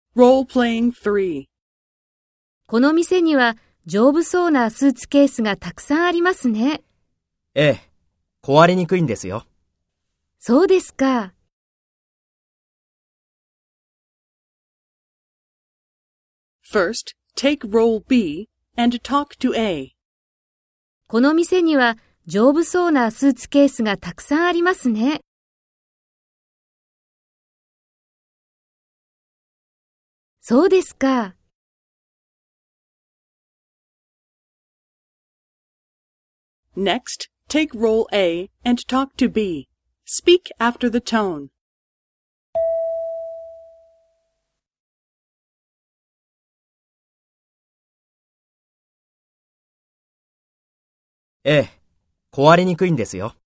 Role-playing 3. この店には丈夫そうなスーツケースがたくさんありますね。 ええ、壊れにくいんですよ。 そうですか。 First, take role B and talk to A. この店には丈夫そうなスーツケースがたくさんありますね。そうですか。 Next, take role A and talk to B. Speak after the tone. ええ、壊れにくいんですよ。